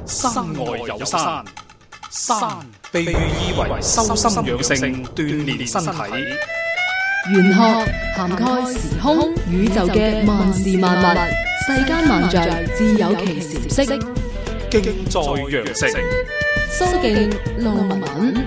山外有山，山被寓意為修心養性、鍛煉身體。 玄學涵蓋時空宇宙嘅萬事萬物，世間萬象自有其時色。 敬在羊城， 蘇敬路文。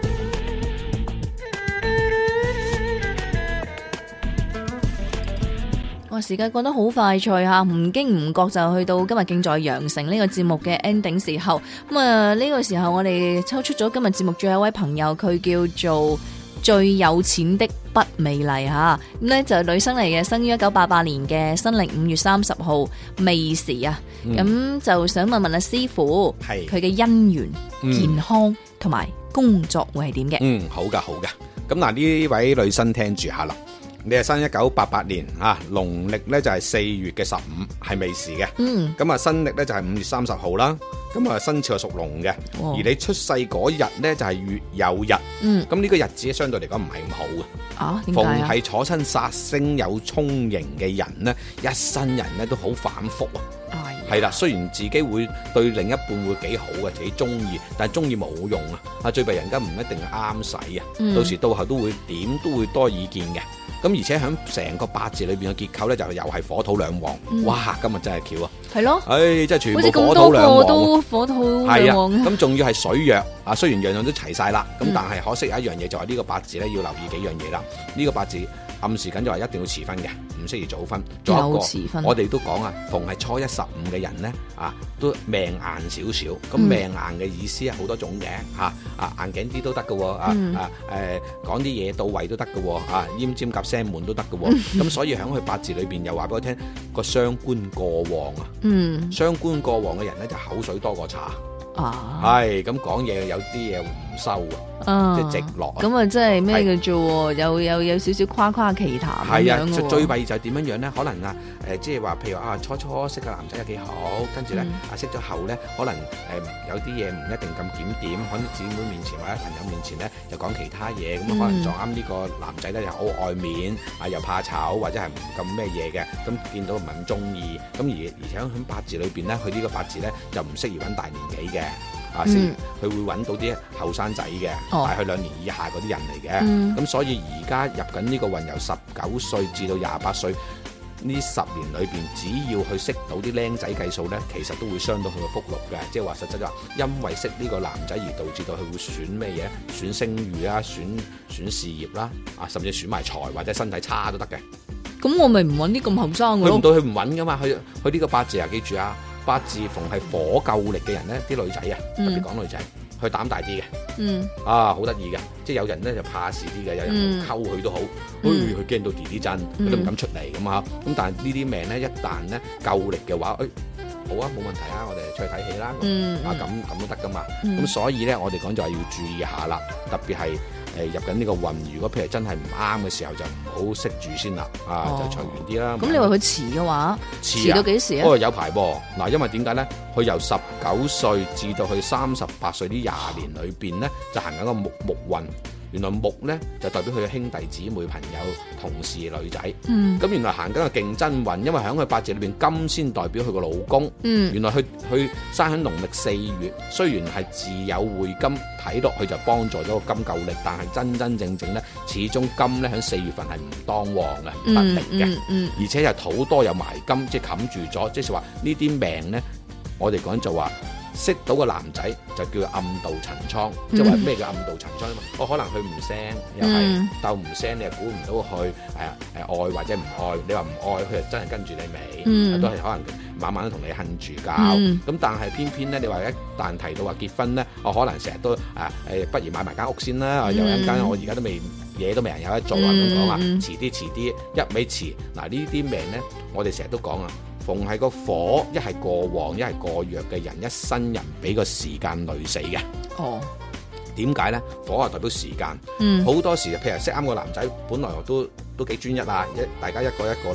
時間過得好快脆吓，唔經唔覺就去到今日敬在羊城呢個節目嘅 ending 時候。咁啊，呢個時候我哋抽出咗今日節目最後一位朋友，佢叫做最有錢的不美麗吓。咁呢就係女生嚟嘅，生於1988年嘅新曆5月30號未時啊。咁就想問問阿師傅，佢嘅姻緣、健康同埋工作會係點嘅？ 好噶，好噶。咁嗱，呢位女生聽住下啦。你係生1988年啊，農曆咧就係4月嘅15，係未時嘅。咁啊，新曆咧就係5月30號啦。咁啊，生肖係屬龍嘅。而你出世嗰日咧就係月有日。咁呢個日子相對嚟講唔係咁好嘅。點解啊？逢係坐親煞星有沖刑嘅人咧，一生人咧都好反覆啊。係啦，雖然自己會對另一半會幾好嘅，自己中意，但係中意冇用啊！最弊人家唔一定啱使啊，到時到後都會點都會多意見嘅。咁而且喺成個八字裏邊嘅結構咧，就又係火土兩旺。哇！今日真係巧啊！係咯，真係全部火土兩旺， 都火土兩旺。 咁仲要係水弱啊！雖然樣樣都齊晒啦，咁但係可惜有一樣嘢就係呢個八字咧要留意幾樣嘢啦。呢個八字暗示緊就話一定要遲婚嘅，唔適宜早婚。仲有一個，我哋都講啊，逢係初一15嘅人咧啊，都命硬少少。咁命硬嘅意思係好多種嘅嚇，硬頸啲都得嘅喎，講啲嘢到位都得嘅喎，奄尖夾聲悶都得嘅喎。咁所以喺佢八字裏邊又話俾我聽，個傷官過旺啊。傷官過旺嘅人咧就口水多過茶。係咁講嘢有啲嘢唔收即係直落。咁啊，即係咩嘅啫？有少少誇誇其談咁樣。係啊，最弊就係點樣樣咧？可能即係話，譬如初初識個男仔又幾好，跟住咧識咗後咧，可能有啲嘢唔一定咁檢點，可能姊妹面前或者朋友面前咧又講其他嘢，咁可能撞啱呢個男仔咧又好愛面又怕醜，或者係唔咁咩嘢嘅，咁見到唔係咁中意，咁而且喺八字裏邊咧，佢呢個八字咧就唔適宜揾大年紀嘅。佢會揾到啲後生仔嘅，大佢2年以下嗰啲人嚟嘅。咁所以而家入緊呢個運由19歲至到28歲呢10年裏邊，只要去識到啲僆仔計數咧，其實都會傷到佢個福祿嘅。即係話實質就話，因為識呢個男仔而導致到佢會損咩嘢？損聲譽啦，損事業啦，甚至損埋財或者身體差都得嘅。咁我咪唔揾啲咁後生嘅咯？佢唔到佢唔揾噶嘛？佢呢個八字記住啊！八字逢係火夠力嘅人咧，啲女仔特別講女仔，佢膽大啲嘅，好得意嘅，即係有人咧就怕事啲嘅，有人溝佢都好，佢驚到啲震，佢都唔敢出嚟咁啊。咁但係呢啲命咧，一旦咧夠力嘅話，好啊，冇問題啊，我哋出去睇戲啦，咁都得噶嘛。咁所以咧，我哋講就係要注意下啦，特別係入緊呢個運，如果譬如真係唔啱嘅時候，就唔好識住先啦，就長遠啲啦。咁你話佢遲嘅話，遲到幾時啊？有排噃，嗱，因為點解咧？佢由19歲至到去38歲呢20年裏邊咧，就行緊個木運。原來木咧就代表佢嘅兄弟姊妹、朋友、同事、女仔。咁原來行緊個競爭運，因為喺佢八字裏邊金先代表佢個老公。原來佢生喺農曆4月，雖然係自有會金，睇落去就幫助咗個金夠力，但係真正咧，始終金咧喺4月份係唔當旺嘅，唔得力嘅。而且又土多有埋金，即係冚住咗，即係話呢啲命咧，我哋講就話。識到個男仔就叫暗度陳倉，即係話咩叫暗度陳倉啊嘛？可能佢唔聲，又係鬥唔聲，你又估唔到佢愛或者唔愛。你話唔愛，佢就真係跟住你尾，都係可能晚晚都同你恨住交。咁但係偏偏咧，你話一旦提到話結婚咧，我可能成日都不如買埋間屋先啦。有一間我而家都未嘢都未人有得做啊，咁講啊，遲啲，一味遲。嗱呢啲命咧，我哋成日都講啊。逢係個火一係過旺一係過弱嘅人，一生人俾個時間累死嘅。點解咧？火係代表時間，好多時譬如識啱個男仔，本來都幾專一啊，大家一個一個啦。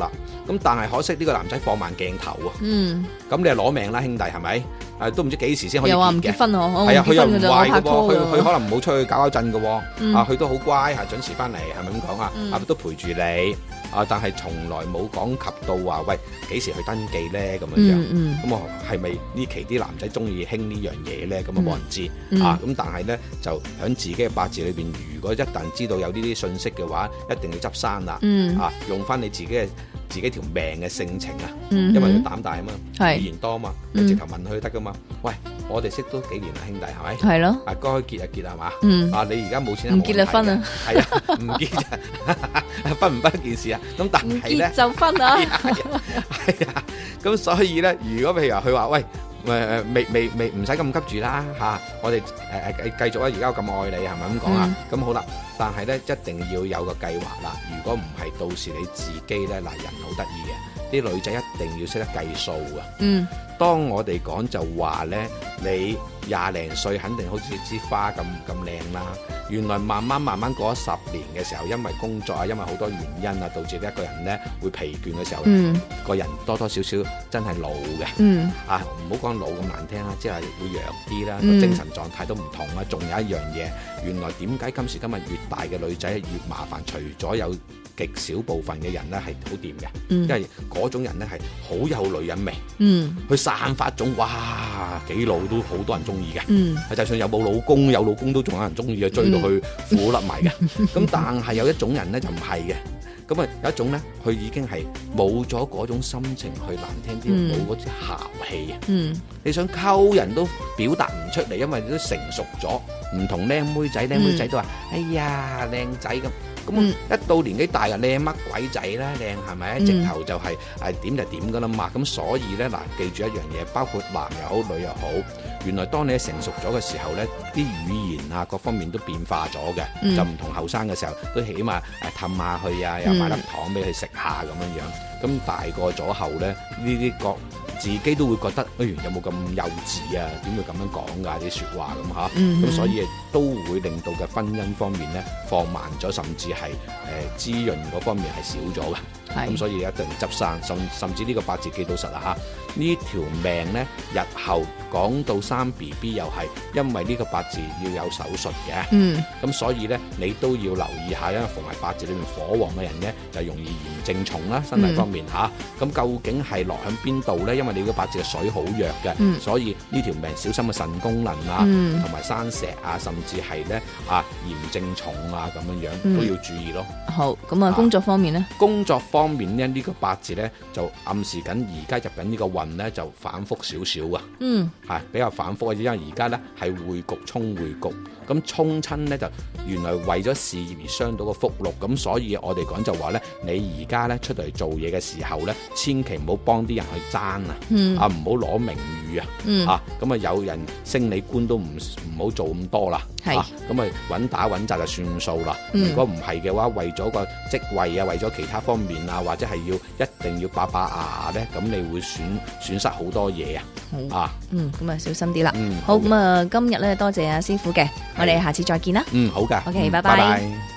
咁但係可惜呢個男仔放慢鏡頭啊。咁你係攞命啦，兄弟係咪？都唔知幾時先可以結嘅。 又話唔結婚喎， 係啊，佢又唔壞嘅喎， 佢可能冇出去搞震嘅喎。佢都好乖，準時翻嚟，係咪咁講啊？都陪住你。但係從來冇講及到話，喂，幾時去登記咧咁樣樣。咁係咪呢期啲男仔中意興呢樣嘢咧？咁冇人知。咁但係咧就喺自己嘅八字裏邊，如果一旦知道有呢啲信息嘅話，一定要執生啦。用翻你自己條命嘅性情啊，因為佢膽大啊嘛，語言多啊嘛，你直頭問佢得噶嘛。喂，我哋識都幾年啦，兄弟係咪？係咯。該結就結係嘛？你而家冇錢， 唔結就分啊。係啊， 唔結就分唔分一件事啊。咁但係咧， 就分啊。 係啊，咁所以咧，如果譬如話佢話喂。未唔使咁急住啦嚇，我哋繼續啊！而家我咁愛你係咪咁講啊？咁好啦，但係咧一定要有個計劃啦。如果唔係，到時你自己咧，嗱，人好得意嘅，啲女仔一定要識得計數㗎。當我哋講就話咧，你20零歲肯定好似支花咁靚啦。原來慢慢過咗10年嘅時候，因為工作啊，因為好多原因啊，導致呢一個人咧會疲倦嘅時候，個人多多少少真係老嘅。唔好講老咁難聽啦，即係會弱啲啦，個精神狀態都唔同啦。仲有一樣嘢，原來點解今時今日越大嘅女仔越麻煩？除咗有極少部分嘅人咧係好掂嘅，因為嗰種人咧係好有女人味，佢散發種哇幾老都好多人中意嘅，就算有冇老公，有老公都仲有人中意嘅，追到佢褲甩埋嘅。咁但係有一種人咧就唔係嘅，咁啊有一種咧佢已經係冇咗嗰種心情，去難聽啲冇嗰啲姣氣啊。你想溝人都表達唔出嚟，因為你都成熟咗，唔同靚妹仔都話哎呀靚仔咁。咁一到年紀大啊，靚乜鬼仔啦，靚係咪？直頭就係點就點噶啦嘛。咁所以咧嗱，記住一樣嘢，包括男又好女又好，原來當你成熟咗嘅時候咧，啲語言啊各方面都變化咗嘅，就唔同後生嘅時候，都起碼氹下佢啊，又買粒糖俾佢食下咁樣樣。咁大個咗後咧，呢啲自己都會覺得，有冇咁幼稚啊？點會咁樣講㗎啲説話咁嚇？咁所以都會令到嘅婚姻方面咧放慢咗，甚至係滋潤嗰方面係少咗嘅。咁所以一定執生，甚至呢個八字記到實啦嚇。呢條命咧，日後講到生 BB 又係因為呢個八字要有手術嘅。咁所以咧，你都要留意下，因為逢係八字裏面火旺嘅人咧，就容易炎症重啦，身體方面嚇。咁究竟係落喺邊度咧？因為你個八字嘅水好弱嘅，所以呢條命小心嘅腎功能啊，同埋生石啊，甚至係咧炎症重啊咁樣樣都要注意咯。好，咁工作方面咧？工作方面咧，呢個八字咧就暗示緊而家入緊呢個運咧就反覆少少啊，比較反覆，因為而家咧係會局衝會局，咁衝親咧就原來為咗事業而傷到個福祿，咁所以我哋講就話咧，你而家咧出嚟做嘢嘅時候咧，千祈唔好幫啲人去爭啊，唔好攞名譽啊，咁啊有人升你官都唔好做咁多啦，咁啊穩打穩紮就算數啦。如果唔係嘅話，為咗個職位啊，為咗其他方面啊，或者係一定要把牙咧，咁你會損失好多嘢啊。咁啊小心啲啦。好，咁啊今日咧多謝阿師傅嘅，我哋下次再見啦。好噶。OK，拜拜。